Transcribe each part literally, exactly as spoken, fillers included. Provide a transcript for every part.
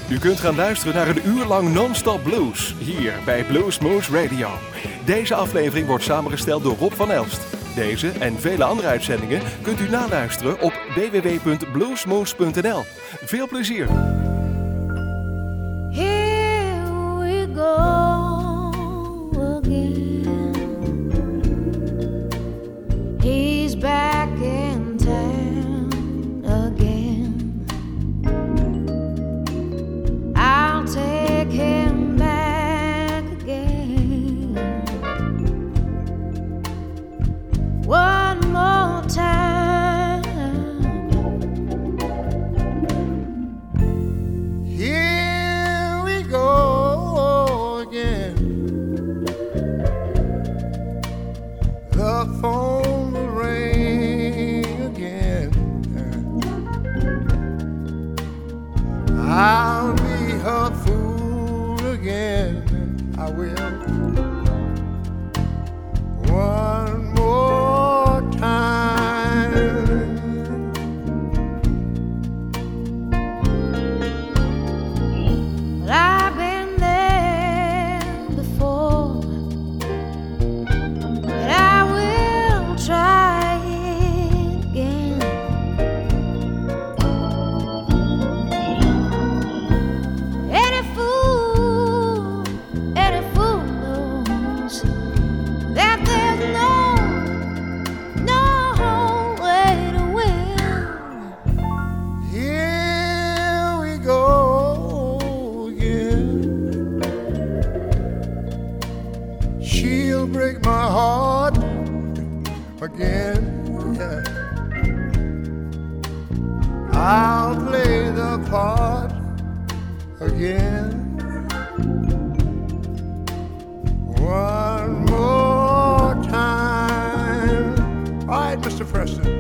U kunt gaan luisteren naar een uur lang non-stop blues, hier bij Bluesmoose Radio. Deze aflevering wordt samengesteld door Rob van Elst. Deze en vele andere uitzendingen kunt u naluisteren op w w w punt bluesmoose punt n l. Veel plezier! Here we go again. He's back in town again. I'll take him back again. One more time. Here we go again. The phone will ring again. I'll be her fool again. I will. One more time. Well, I've been there before, but I will try it again. Any fool, any fool knows that there's no, no way to win. Here we go again. She'll break my heart again. Yeah. I'll play the part again. One more time. All right, Mister Preston.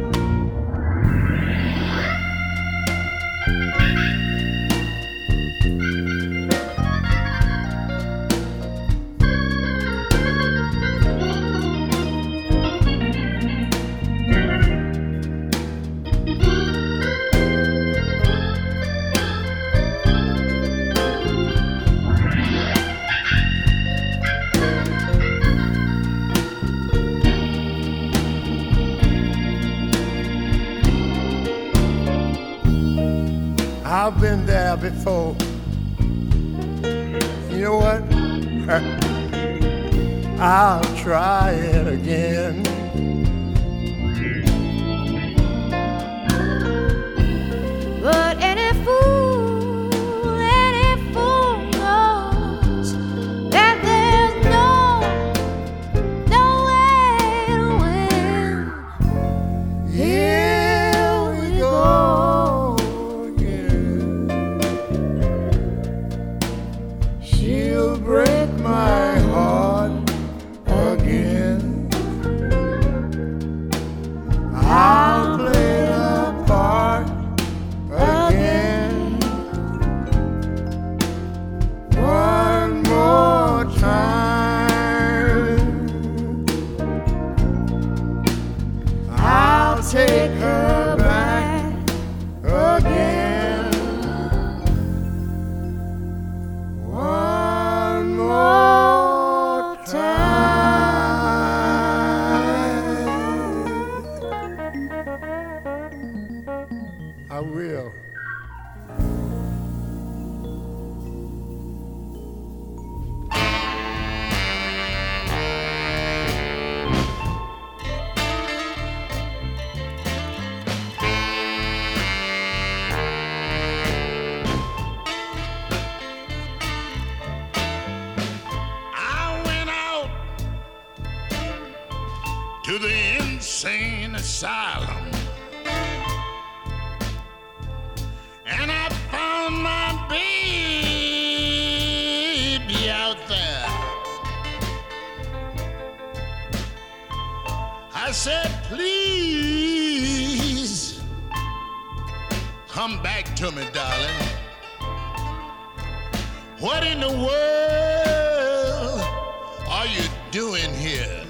I've been there before. You know what? I'll try it again. But any fool, any fool knows that there's no, no way to win. Here we go again. She'll break my heart again. I'll play the part again. One more time. I'll take her back again. One more time. I will. I went out to the insane asylum, and I found my baby out there. I said, please come back to me, darling. What in the world are you doing here?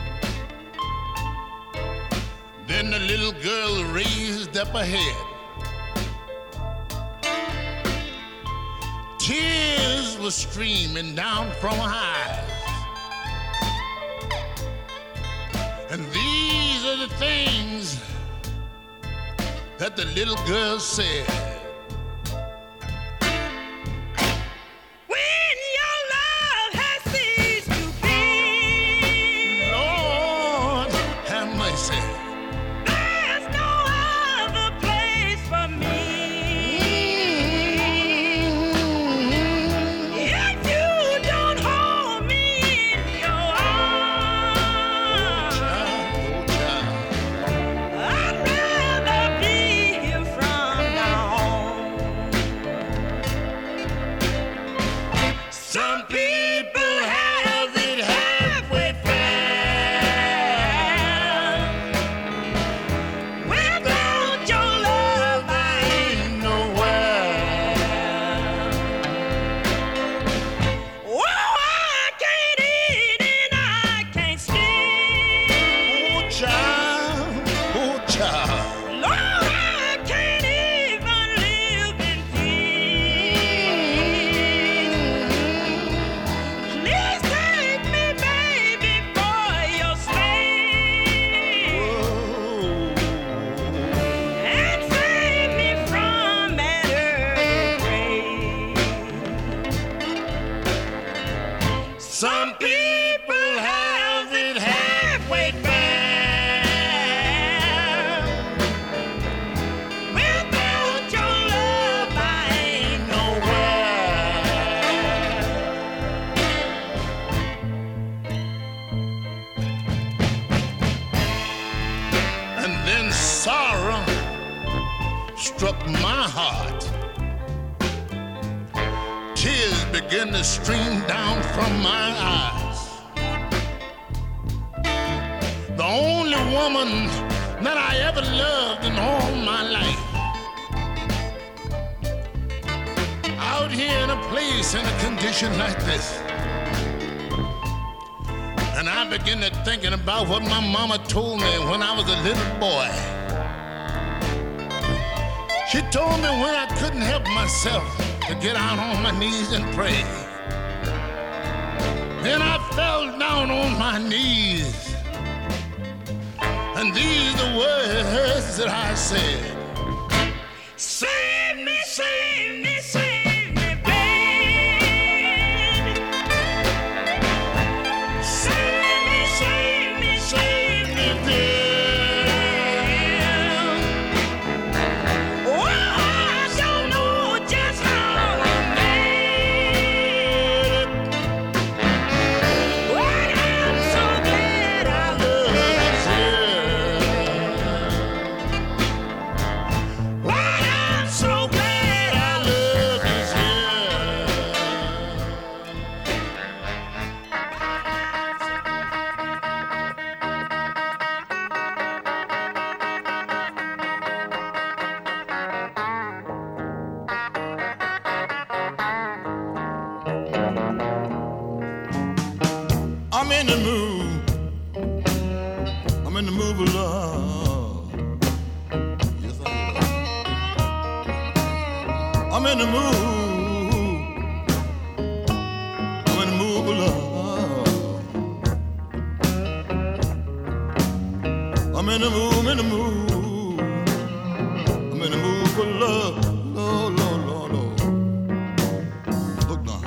Then the little girl raised up her head. was streaming down from her eyes. And these are the things that the little girl said. When your love has ceased to be, Lord, have mercy. there's no other place for me. If you don't hold me in your arms, Oh, child. I'd rather be here from now on. Some people have it halfway fair. Without your love, I ain't nowhere. Oh, I can't eat and I can't sleep. Oh, child. Oh, child. Lord, I can't even live in peace. Please take me, baby, for your slave, and save me from that earthly grave. Some people have it halfway fair. Without your love, I ain't nowhere. And then sorrow struck my heart. Tears began to stream down from my eyes. The only woman that I ever loved in all my life. Out here in a place in a condition like this. And I began to thinking about what my mama told me when I was a little boy. She told me when I couldn't help myself to get out on my knees and pray. Then I fell down on my knees. And these are the words that I said. Save me, save me, save me, babe. Save me, save me, save me, babe. Oh, I don't know just how I made it, but I'm so glad I love you. But I'm so glad I love you. I'm in the mood. I'm in the mood of love. Yes, I am. I'm in the mood. I'm in the mood of love. I'm in the mood, I'm in the mood. I'm in the mood for love. Lord, Lord, Lord, Lord. Look now.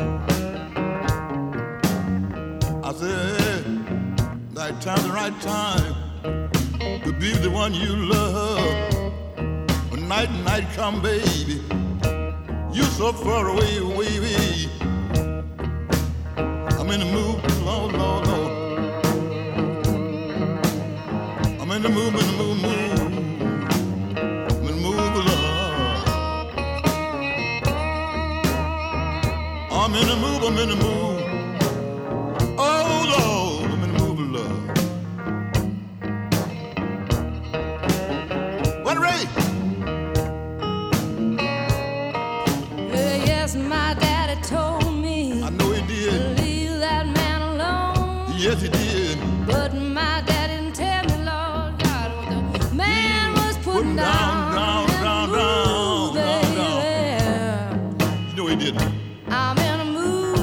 I said, right time, the right time to be the one you love. When night and night come, baby, you so far away, away, away. I'm in the mood, Lord, Lord, Lord. I'm in the mood, in the mood, mood. I'm in the mood of love. I'm in the mood, I'm in the mood. Oh Lord, I'm in the mood of love. What Ray? Uh, yes, my daddy told me I know he to did. leave that man alone. Yes, he did. But my daddy didn't tell me, Lord God, what the man was putting down, down, down, down, down, down, down. baby. You know he did. I'm in a mood.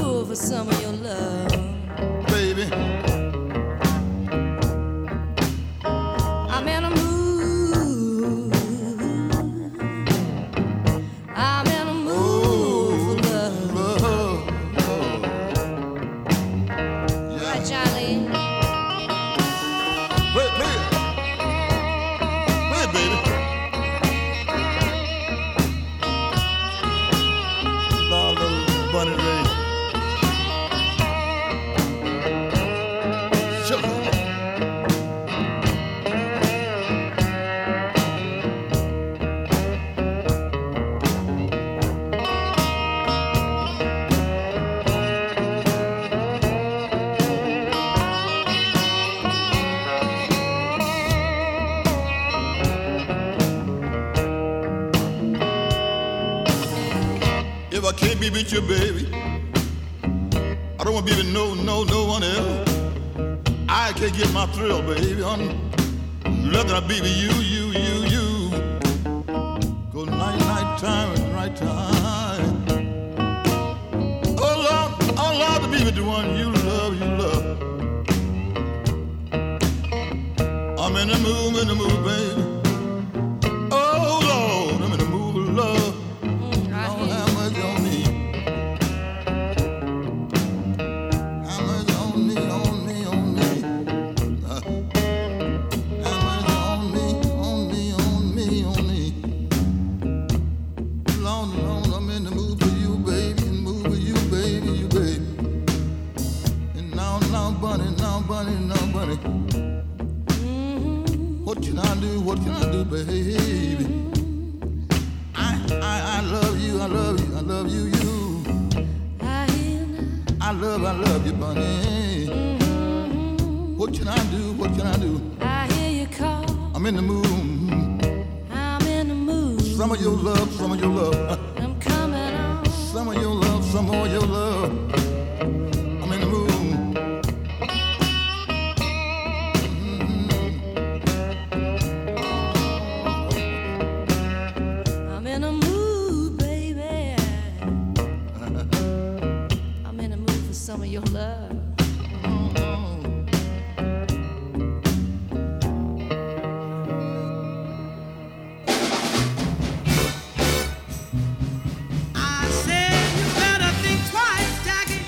I can't be with you, baby, I don't want to be with no, no, no one else. I can't get my thrill, baby, on nothing I be with you, you, you, you. Go night, night time and right time. Oh Lord, oh Lord, to be with the one you love, you love. I'm in the mood, in the mood, baby. Oh Lord, I'm in the mood of love. Lord, have mercy on me. Have mercy on me, on me, on me. Uh, have mercy on me, on me, on me, on me. Lord, Lord, I'm in the mood for you, baby, in the mood for you, baby, you, baby. And now, now, bunny, now, bunny, now, bunny. What can I do? What can I do, baby? I, I, I love you. I love you. I love you, you. I love, I love you, bunny. What can I do? What can I do? I hear you call. I'm in the mood. I'm in the mood. Some of your love, some of your love. I'm coming on. Some of your love, some of your love. I'm in the mood. I'm in a mood, baby. I'm in a mood for some of your love. I said you better think twice, Jackie,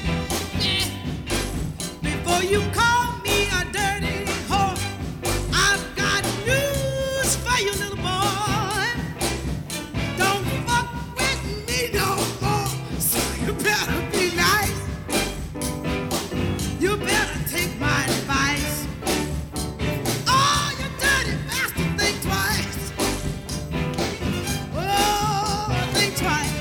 before you call me a dirty whore. I've got news for you, little boy. Don't fuck with me no more. So you better be nice. You better take my advice. Oh, you dirty bastard, think twice. Oh, think twice.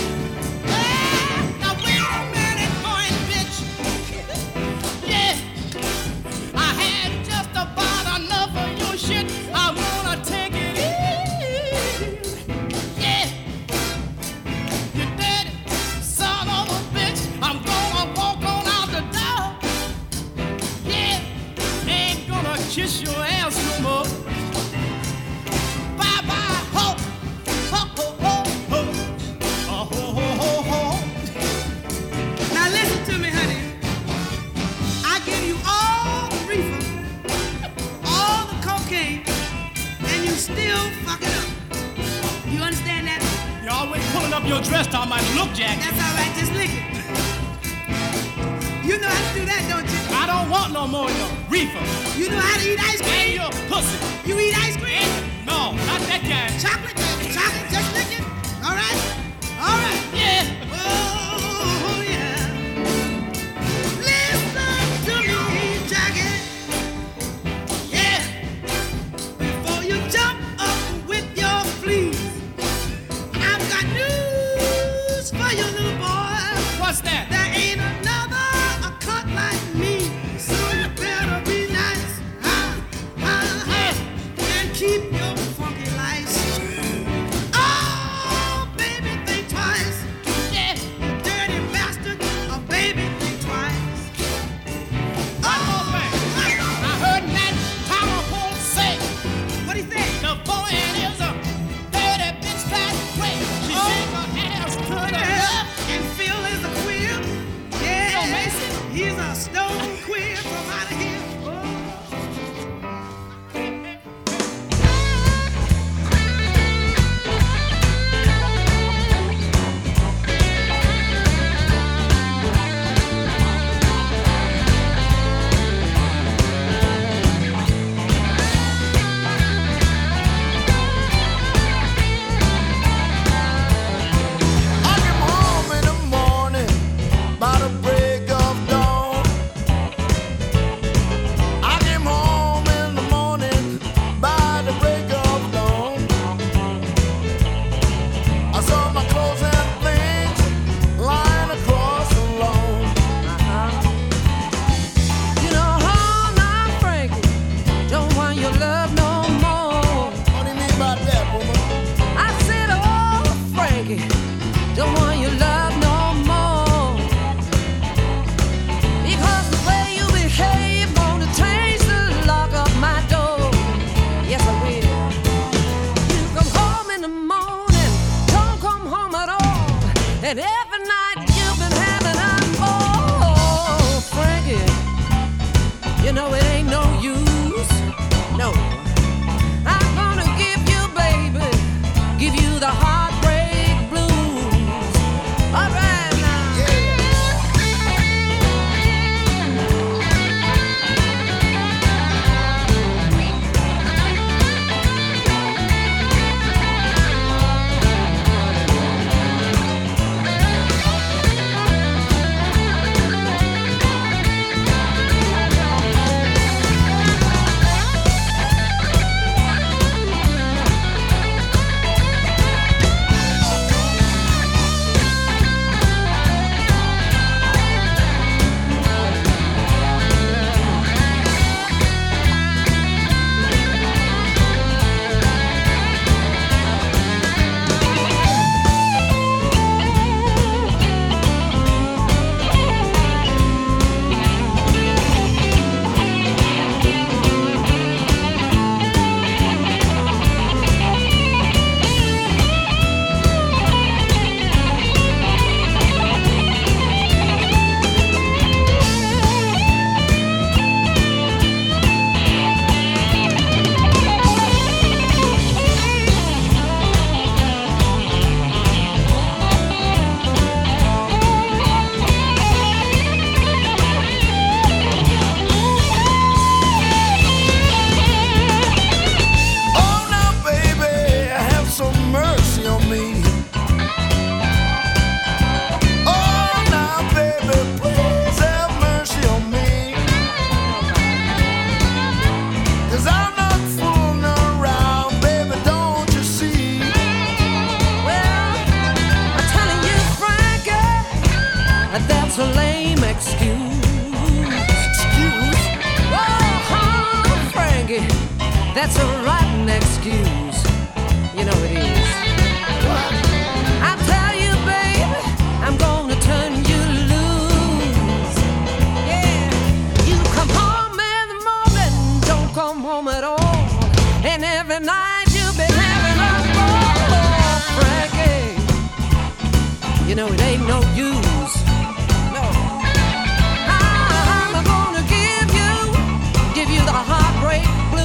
Now wait a minute, boy and bitch. Yeah, I had just about enough of your shit. I wanna take it easy. Yeah, you dirty son of a bitch. I'm gonna walk on out the door. Yeah, ain't gonna kiss your ass no more. Bye bye, ho, ho, ho, ho, ho. Oh, ho, ho, ho, ho. Now listen to me, honey. I give you all the reefer, all the cocaine, and you still fuck it up. You understand that? You're always pulling up your dress down my look, Jack. That's all right, just lick it. You know how to do that, don't you? I don't want no more of your reefer You know how to eat ice and cream? your pussy. You eat ice cream? No, not that kind. Chocolate? Chocolate? Just lick it? All right? All right. Yeah. Oh, yeah. Listen to me, Jackie. Yeah. Before you jump up with your fleas, I've got news for you, little boy. What's that? There ain't another a cut like me, so you better be nice. Huh? Huh? Huh? And keep your funky lice. Oh, baby, think twice. Yeah, you dirty bastard. Oh, baby, think twice. One more thing. I heard Nat Powerful say What do you think? the boy is a dirty bitch that way. She Oh. shake her ass to the Yeah. left. And Phil is a queer. Yeah, Phil Mason? he's a stone queer from out of here. Oh. I came home in the morning by the break of dawn. I came home in the morning by the break of dawn. I saw my clothes and things lying across the lawn. You know, hold on, Frankie. Don't want your love no more. What do you mean by that, woman? I said, oh, Frankie. Don't want your love And every night you've been having a oh, Frankie, you know it ain't no use, no. I'm gonna give you, baby, give you the heartbreak blues. All right. That's a rotten excuse, you know it is. I tell you, baby, I'm gonna turn you loose. Yeah, you come home in the morning, don't come home at all. And every night you've been having a ball, Frankie. You know it ain't no use, no. I'm gonna give you, give you the heartbreak blues.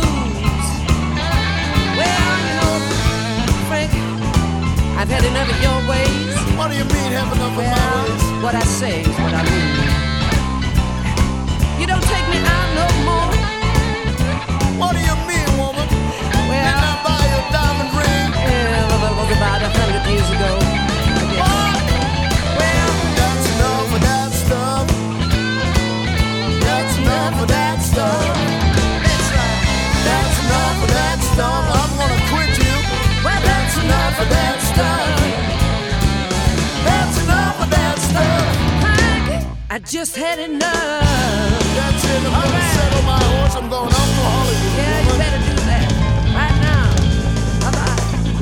Well, you know, Frank, I've had enough of your ways. What do you mean, have enough well, of my ways? What I say is what I mean. You don't take me out no more. What do you mean, woman? Well, didn't I buy you a diamond ring? Yeah, well, that was about a hundred years ago. What? Well, that's enough of that stuff. That's enough of that stuff. That's right. That's enough of that stuff. I'm gonna quit you. Well, that's enough of that stuff. That's enough of that stuff. I just had enough. That's it. I'm All gonna right. settle my horse. I'm going off to Hollywood. Yeah, you better do that right now. Bye-bye.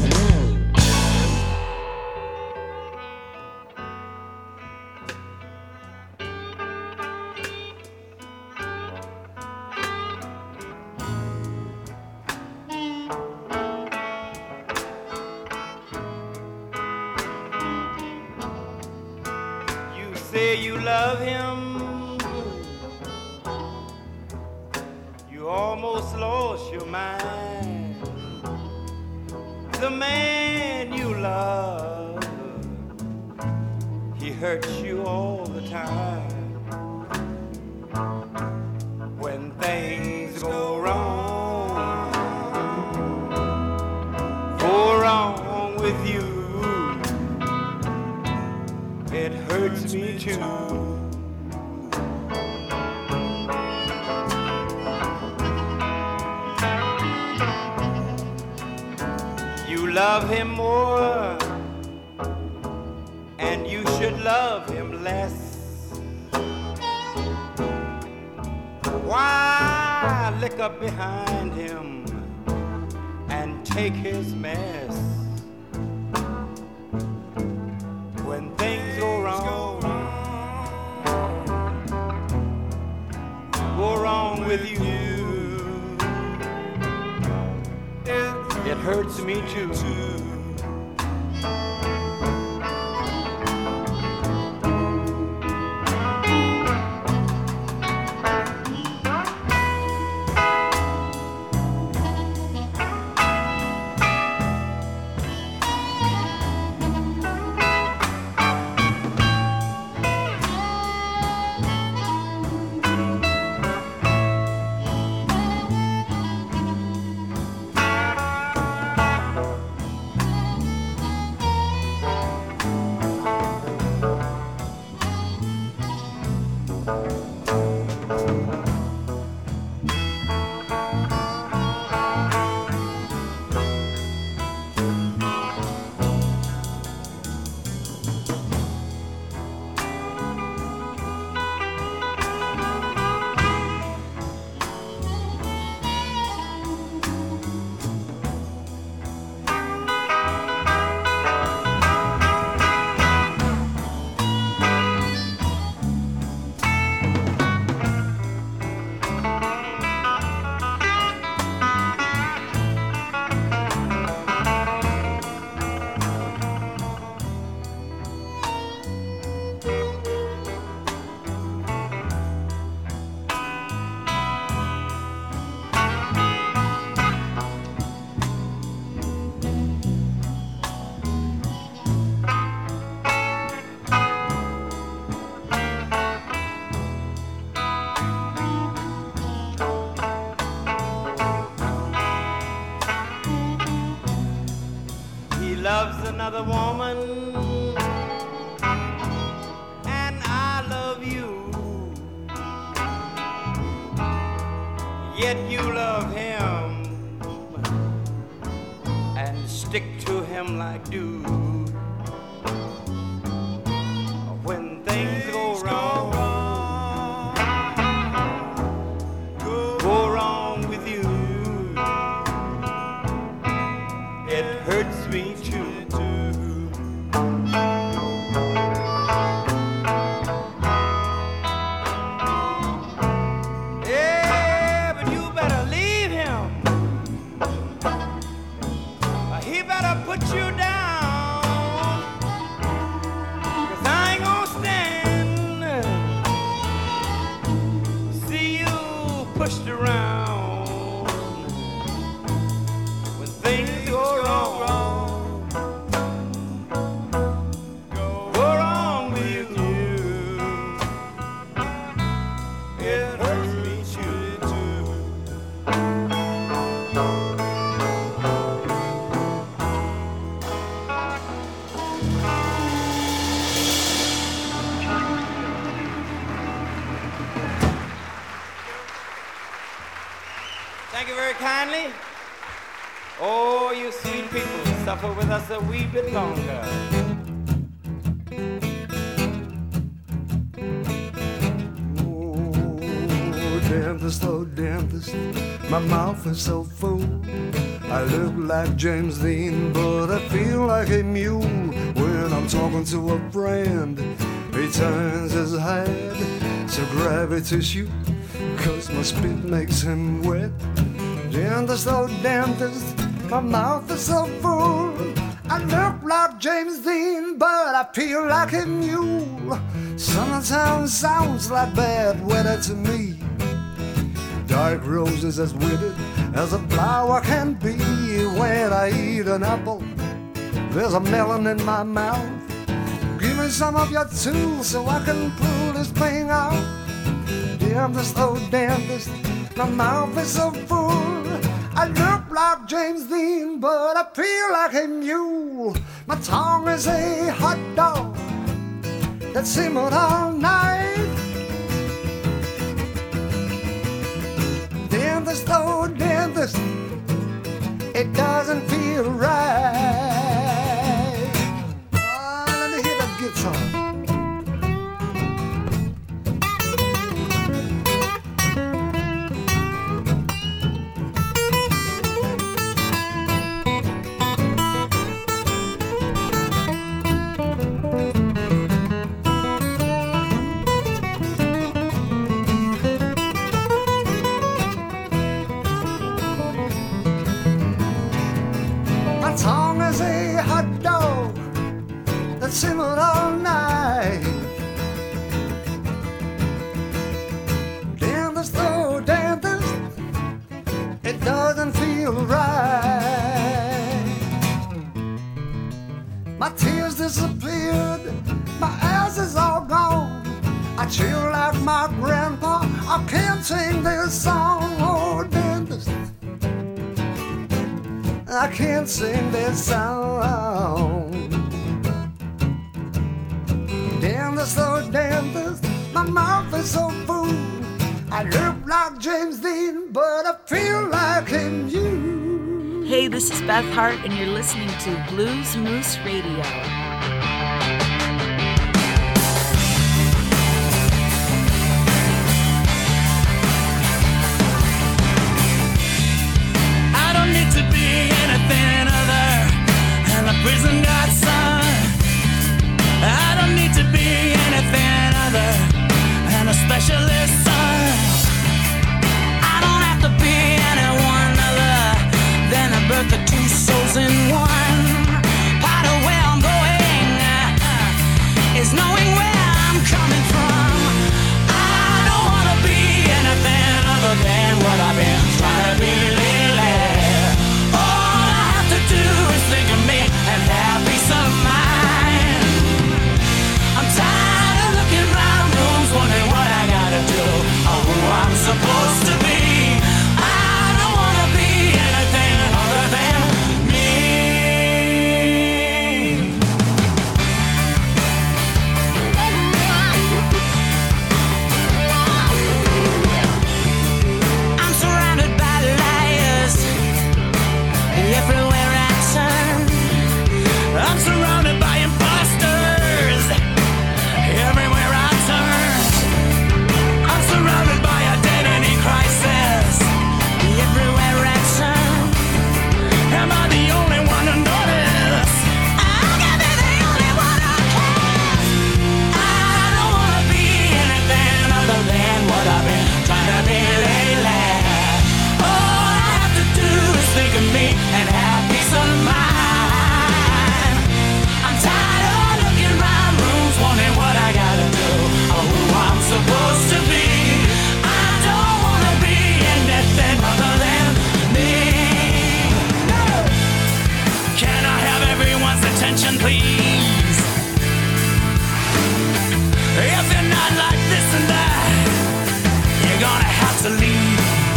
Say you love him, you almost lost your mind. The man you love, he hurts you all the time. When things go wrong, go wrong with you, it hurts me too. You love him more, and you should love him less. Why lick up behind him and take his mess? When things go wrong, go wrong with you, it hurts me too. loves another woman, and I love you, yet you love him and stick to him like do. When things go wrong, go wrong with you, it hurts me too. Yeah, but you better leave him. He better put you down, 'cause I ain't gonna stand see you pushed around when things go wrong. Go wrong with you. It hurts me too. Thank you very kindly. Oh, you sweet people, suffer with us a wee bit longer. Oh, dentist, oh, dentist, my mouth is so full. I look like James Dean, but I feel like a mule. When I'm talking to a friend, he turns his head to grab a tissue, 'cause my spit makes him wet. Dentist, oh, dentist, my mouth is so full. I look like James Dean, but I feel like a mule. Summertime sounds like bad weather to me. Dark roses as withered as a flower can be. When I eat an apple, there's a melon in my mouth. Give me some of your tools so I can pull this thing out. Dentist, oh, dentist, my mouth is so full. I look like James Dean, but I feel like a mule. My tongue is a hot dog that simmered all night. Dentist, oh, dentist, it doesn't feel right. Oh, let me hear that guitar. My tongue is a hot dog that simmered all night. Dentist, oh, dentist, it doesn't feel right. My tears disappeared, my ass is all gone. I chill like my grandpa, I can't sing this song. Oh, dentist, I can't sing this song. Dentist, oh, dentist, my mouth is so full. I look like James Dean, but I feel like him, you. Hey, this is Beth Hart, and you're listening to Blues Moose Radio. To be anything other than a prison guard son. I don't need to be anything other than a specialist son. I don't have to be anyone other than a birth of two souls in one. Part of where I'm going attention, please. If you're not like this and that, you're gonna have to leave.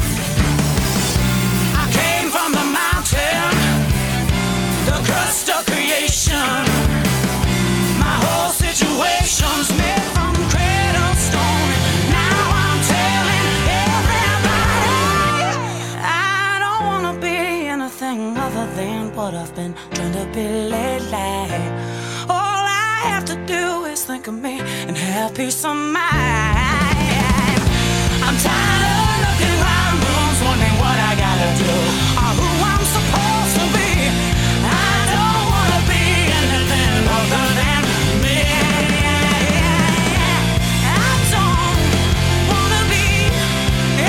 I came from the mountain, the crust of creation. My whole situation's made from cradle stone. Now I'm telling everybody I don't wanna be anything other than what I've been trying to be lately. All I have to do is think of me and have peace of mind. I'm tired of looking around rooms, wondering what I gotta do or who I'm supposed to be. I don't wanna be anything other than me. I don't wanna be. I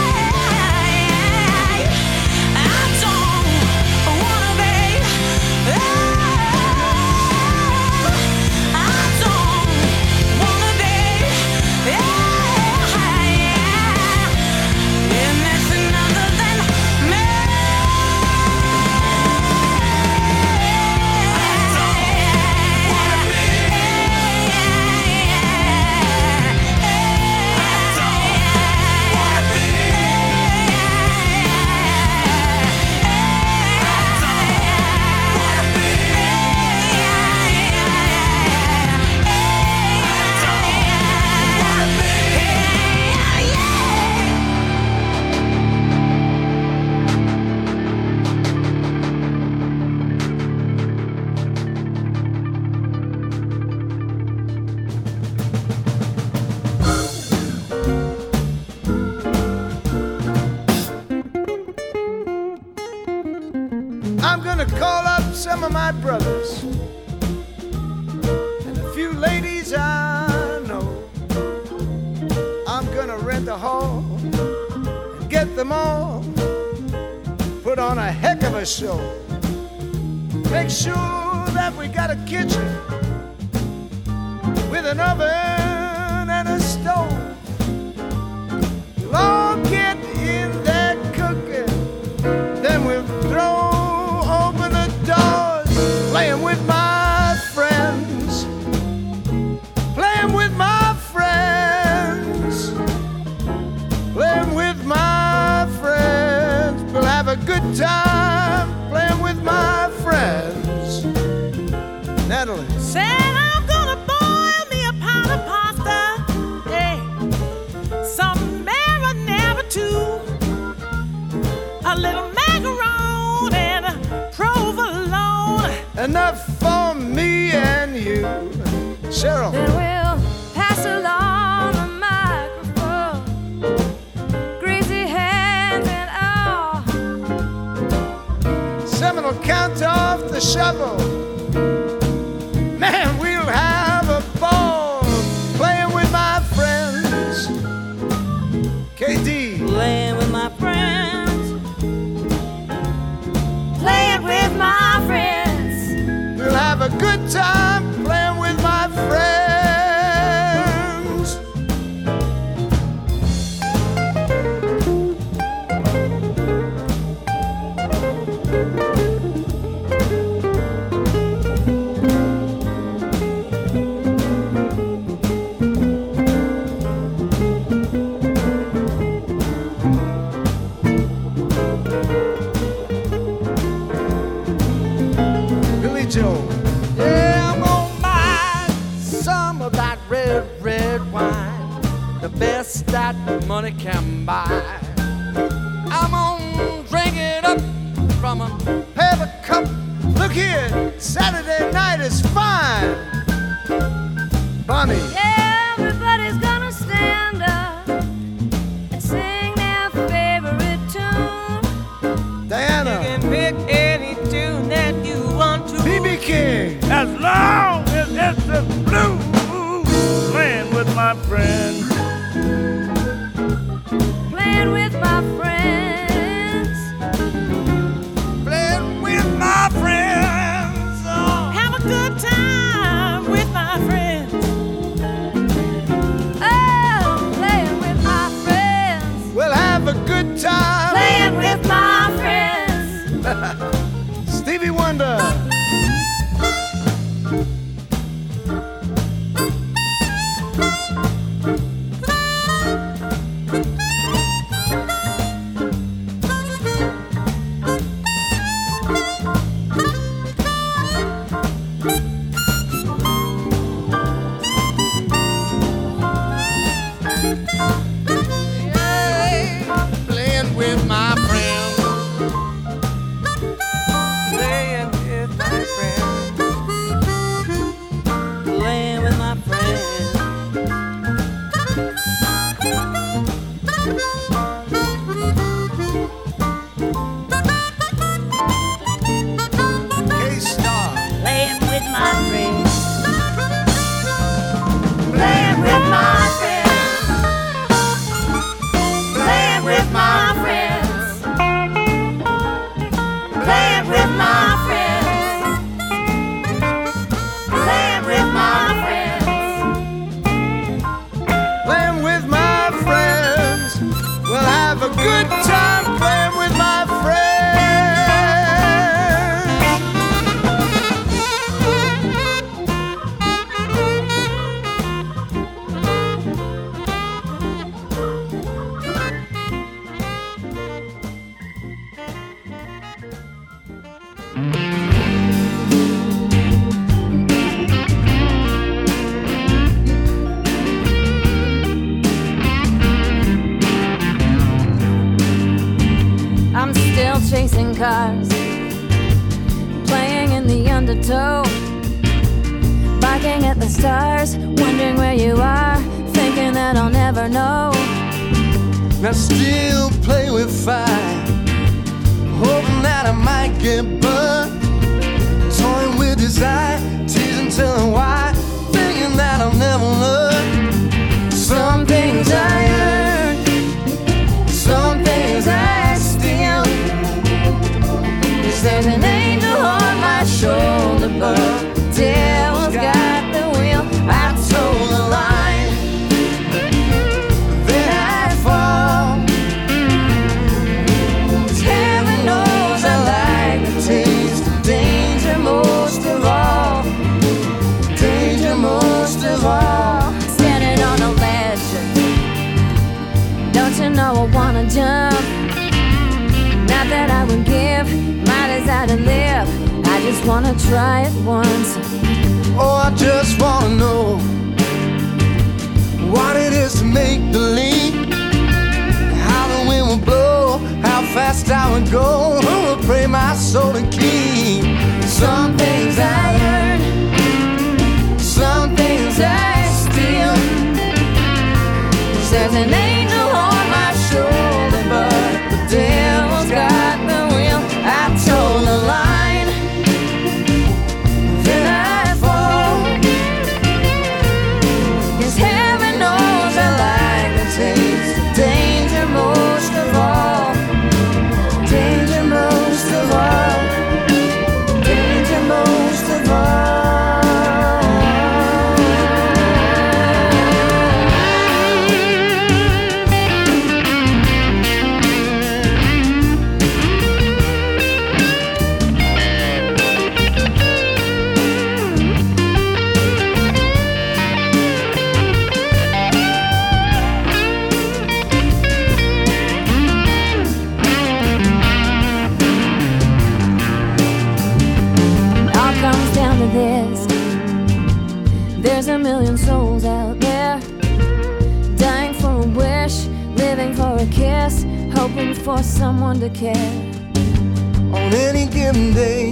don't wanna be. I don't wanna be. Anything other than me. I'm gonna call up some of my brothers and a few ladies I know. I'm gonna rent a hall and get them all, put on a heck of a show. Make sure that we got a kitchen with an oven and a stove. We'll all get in there cooking, then we'll throw open the doors, playing with my friends, playing with my friends, playing with my friends. We'll have a good time playing with my friends. Natalie. Said I'm gonna boil me a pot of pasta, hey, some marinara too, a little macaroni and a provolone. Enough for me and you. Cheryl. Then we'll pass along the microphone, greasy hands and all. Seven will count off the shovel. Man, we'll have a ball playing with my friends. K D. Playing with my friends, Playing with my friends. We'll have a good time playing with my friends. Billy Joe. Yeah, I'm gonna buy some of that red, red wine, the best that money can buy. I'm gonna drink it up from a paper cup. Look here, Saturday night is fine. Bonnie. Everybody's gonna stand up and sing their favorite tune. Diana. you can pick any tune that you want to. B B King. As long as it's the blues, playing with my friends. Playing with my friends. Playing with my friends. Oh. Have a good time with my friends. undertow, barking at the stars, wondering where you are, thinking that I'll never know. I still play with fire, hoping that I might get burned, toying with desire, teasing, telling why, thinking that I'll never learn. Some things I earn, some things I steal. There's an angel on my shoulder, but the devil's got the wheel. I told the line, then I'd fall. 'Cause heaven knows I like the taste of danger most of all. Danger most of all. Standing on a ledge, don't you know I wanna jump? Not that I would give my desire to live, I just wanna try it once. Oh, I just wanna know what it is to make the leap, how the wind will blow, how fast I would go. Who will pray my soul to keep? Some things I earn, some things I steal. There's an angel on my shoulder, but the devil's got the wheel. I told the line, then I fall. 'Cause heaven knows I like the taste of danger most of all. Danger most of all. Danger most of all. This. There's a million souls out there, dying for a wish, living for a kiss, hoping for someone to care. On any given day,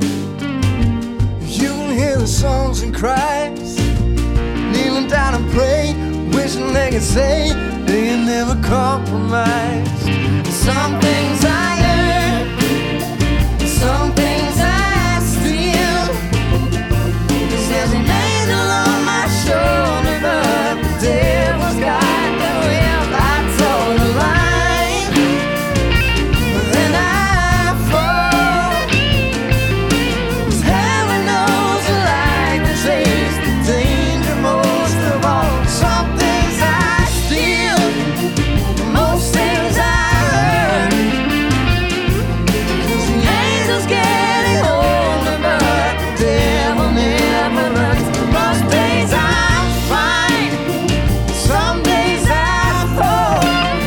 you can hear the songs and cries, kneeling down and pray, wishing they could say they had never compromised. Some things I earn, some things I steal. There's an angel on my shoulder, but the devil's got the wheel. I told the line, then I fall. 'Cause heaven knows I like the taste of danger most of all. Some things I steal, most things I earn. 'Cause the angel's getting older, but the devil never learns. Most days I'm fine, some days I fall.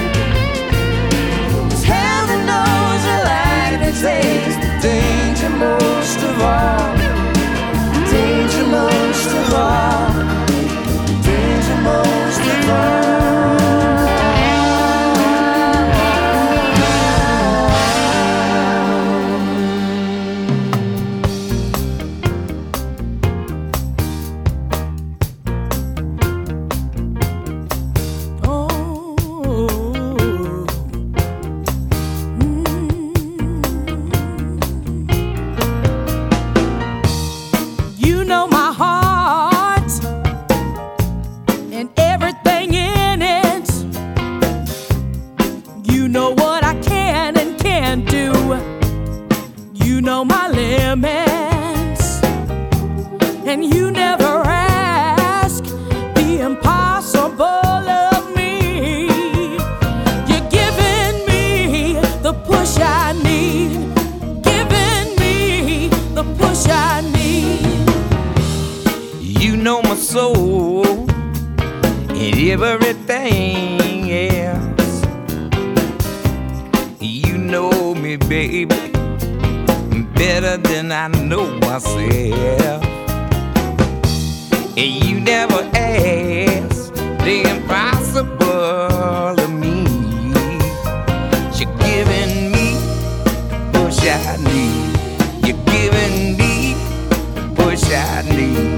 'Cause heaven knows I like the taste of danger most of all. Danger most of all. Danger most of all. You know my heart and everything in it. You know what I can and can't do. You know my limits, and you never ask the impossible of me. You're giving me the push I need, giving me the push I need. You know my soul and everything else. You know me, baby, better than I know myself. And you never ask the impossible of me. You're giving me the push I need. You're giving me push I need.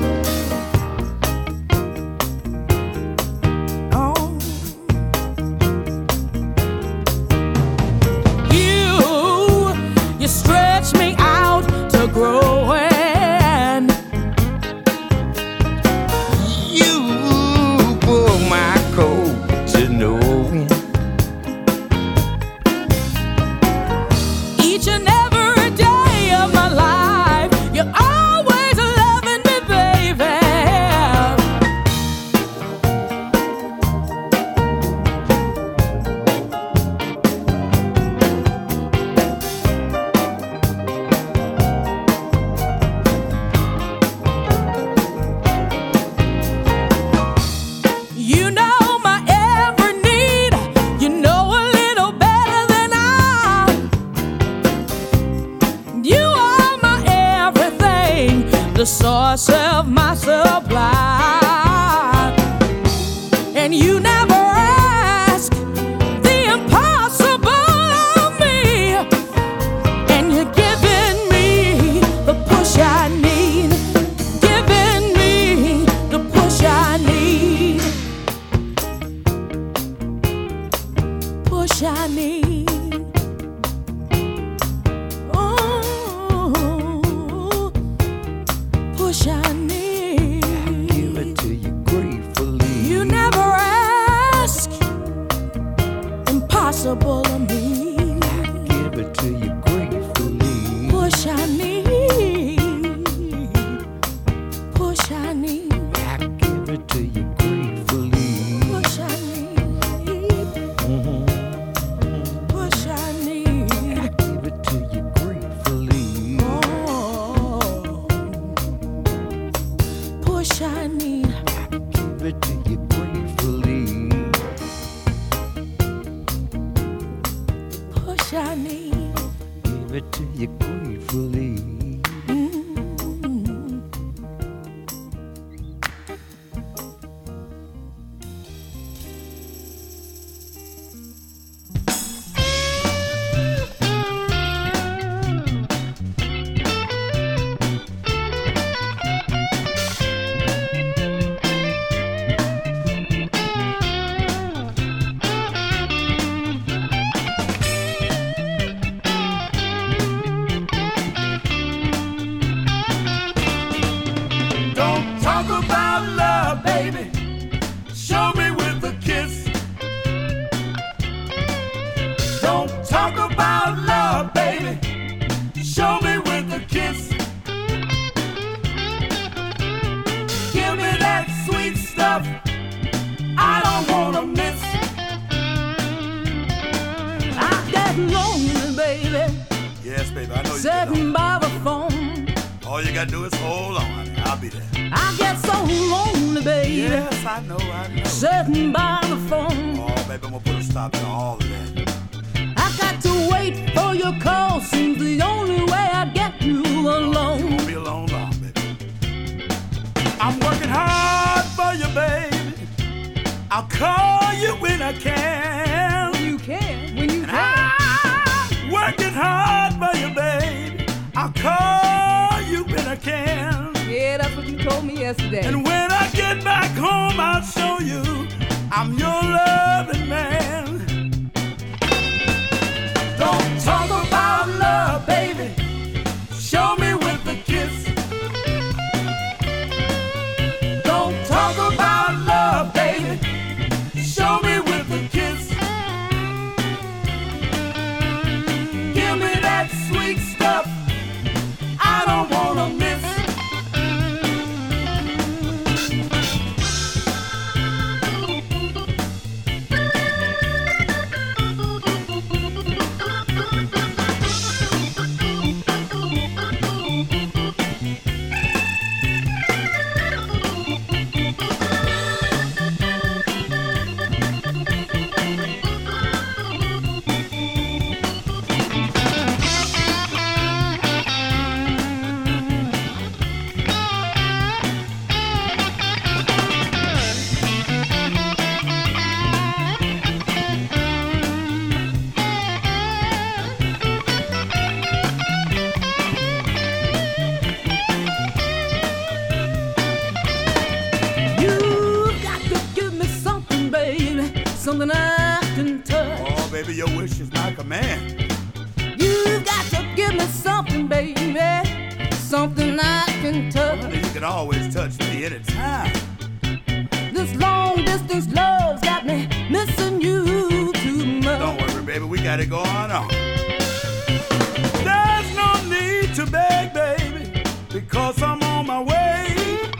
something I can touch. Oh, baby, your wish is my command. You got to give me something, baby, something I can touch. Well, you can always touch me anytime. This long distance love's got me missing you too much. Don't worry, baby, we got it going on. There's no need to beg, baby, because I'm on my way.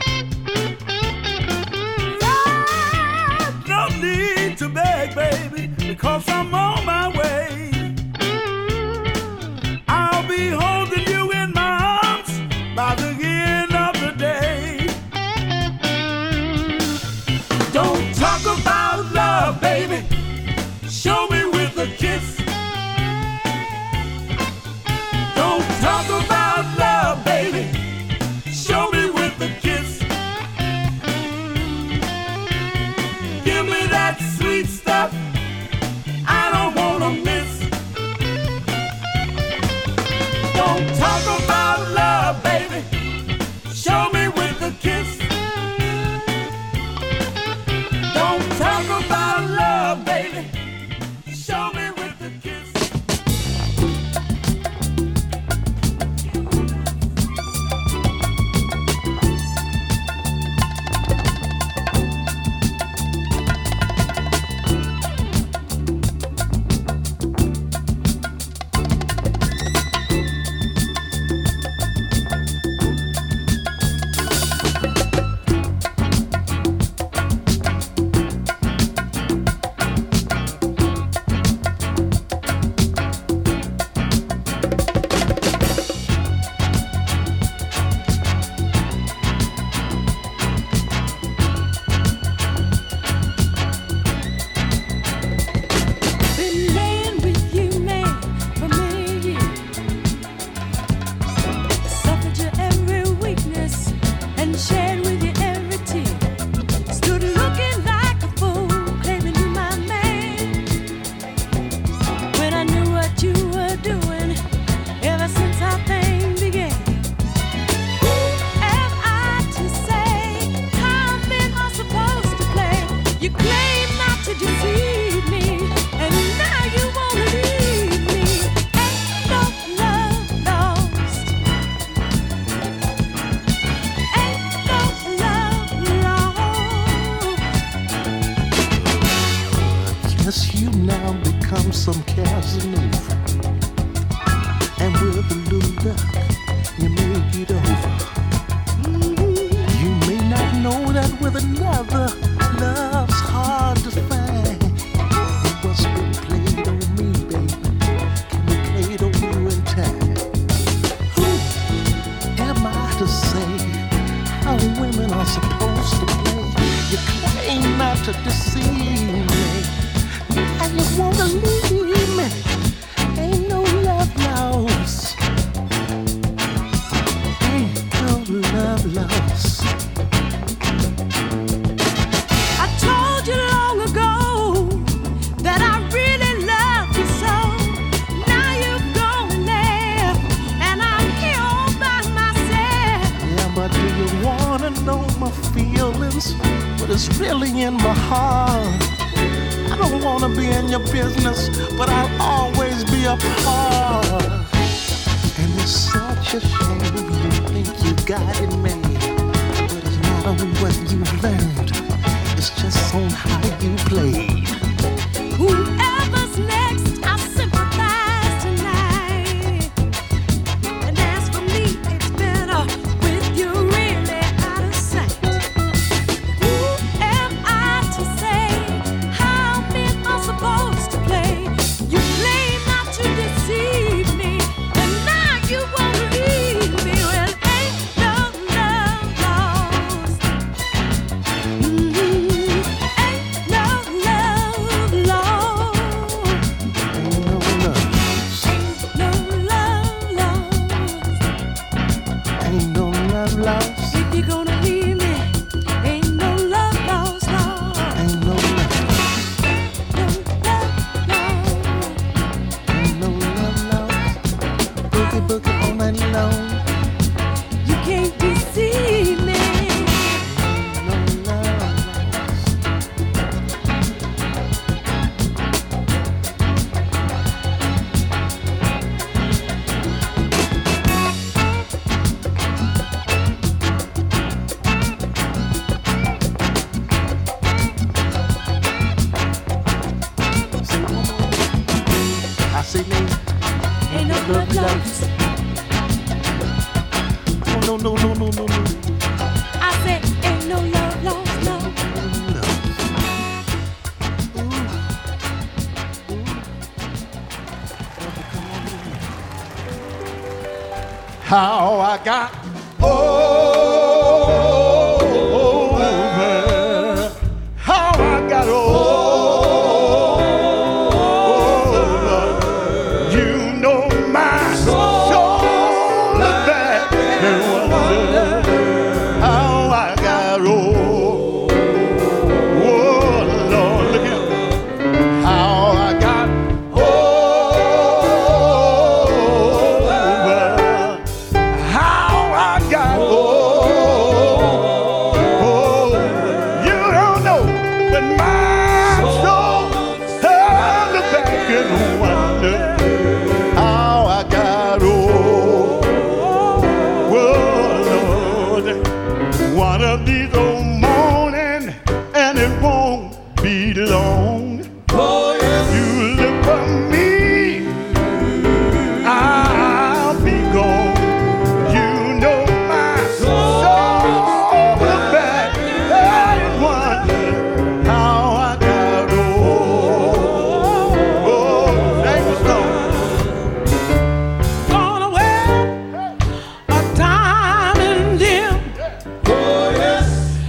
There's no need to beg, baby, because I'm on my way. I'll be holding you in my arms by the end of the day. Don't talk about love, baby. Show me with a kiss. Don't talk about love, baby. Show me with a kiss. Give me that sweet stuff I don't wanna miss. Don't talk about love, baby. Show me with a kiss. Don't talk about love, baby. Show me with a kiss. Some Casanova, and with a little luck, you make it over. Mm-hmm. You may not know that with another, love's hard to find. And what's been played on me, baby, can be played on you in time. Who am I to say how women are supposed to play? You claim not to deceive me, and you wanna leave me. Ain't no love lost. Ain't no love lost. I told you long ago that I really love you so. Now you've gone there, and I'm here all by myself. Yeah, but do you wanna know my feelings? What is really in my heart? I don't wanna be in your business, but I'll always be a part. And it's such a shame you think you got it made, but it's not on what you've learned, it's just on how you played. Whoever's next, I sympathize tonight. And as for me, it's better with you really out of sight. Who am I to say how men are supposed to play? You claim not to deceive me, and now you won't leave me. Well, ain't no love lost. Mm-hmm. Ain't no love lost. Ain't no love. Ain't no love lost. Ain't no love lost. If you're gonna leave me, ain't no love lost, Lord. Ain't no love. Ain't no love lost. Boogie boogie all night long. You can't deceive me. No love lost. lost. No, no, no, no, no, no. I said, ain't no love lost, no. How I got over, how I got over, you know my soul is back and wonder how I got over. Oh Lord, look at how I got over. How I got over, you don't know, but my soul held it back and wonder how I got over. Lord, one of these old mornings, and it won't be long. Oh yes, you look for me, I'll be gone. You know my soul is back and wonder how I got over. Oh, thank you, Lord. Gone away a time and dim. Oh yes,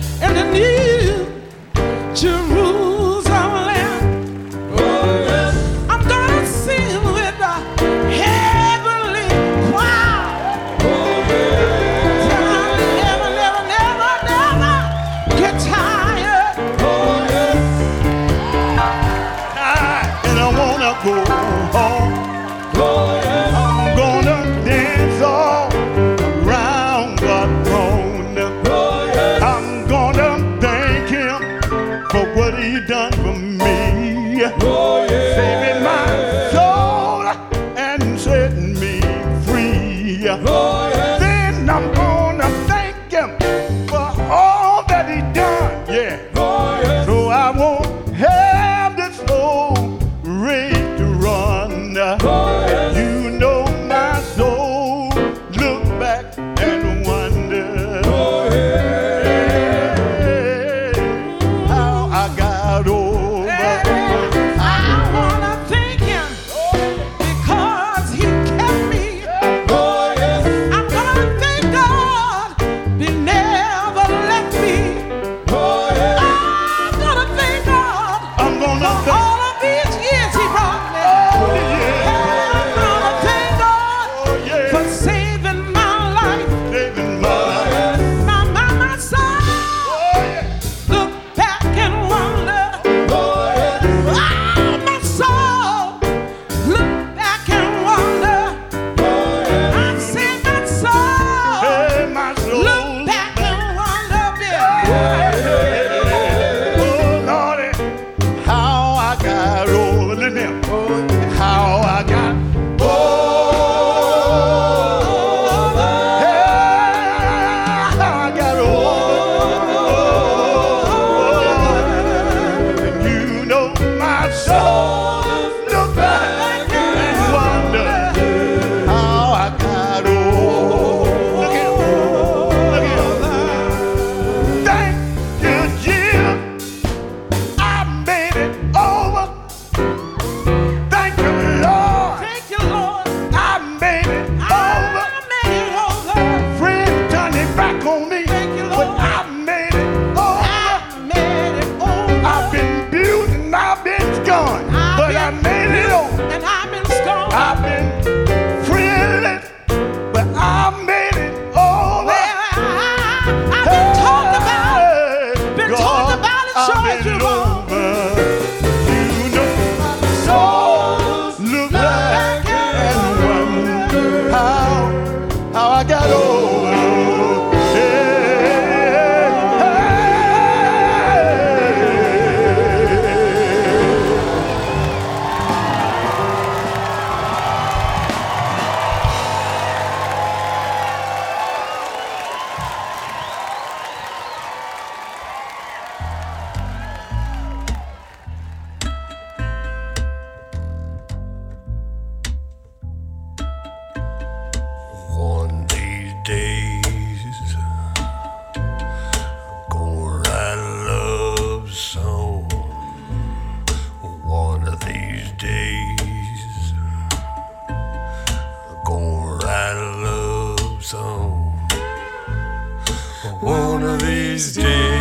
these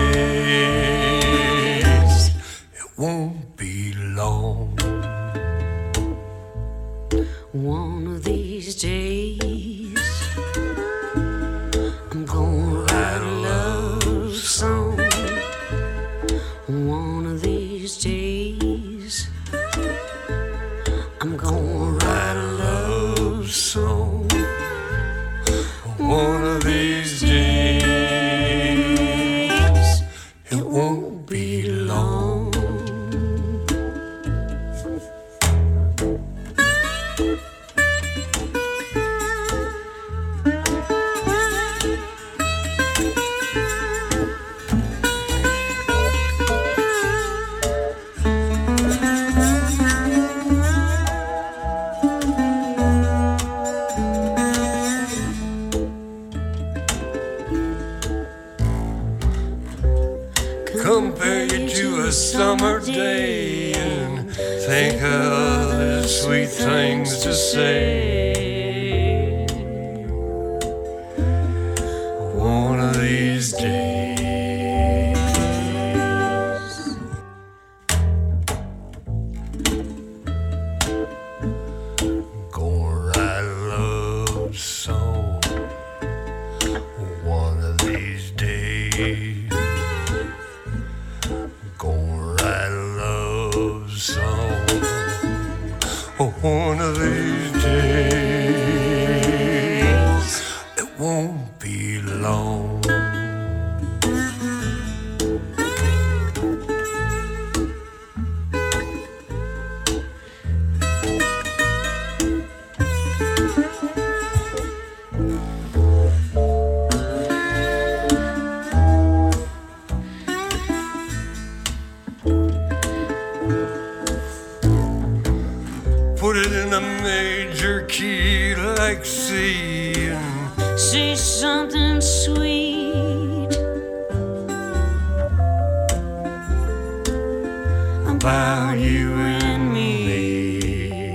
days, it won't be long. One of these days, I'm gonna write a love song. One of these days, I'm gonna write a love song. One of these days, it won't be long. Compare you to a summer day and think of the sweet things to say. One of these days, gonna write a love song. One of these days, gonna write a love song. One of these days, it won't be long. Put it in a major key like C and say something sweet about you and me.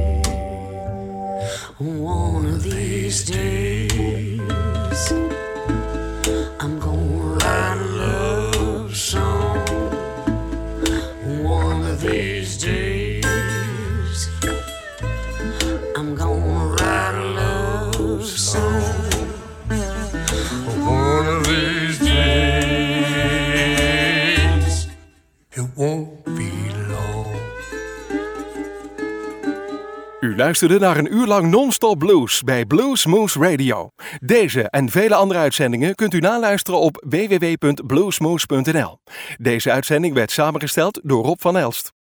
One of these days, I'm gonna write a love song. One of these days, I'm gonna write a love song. one of these days, it won't be long. U luisterde naar een uur lang non-stop blues bij Blues Moose Radio. Deze en vele andere uitzendingen kunt u naluisteren op w w w punt bluesmoose punt n l. Deze uitzending werd samengesteld door Rob van Elst.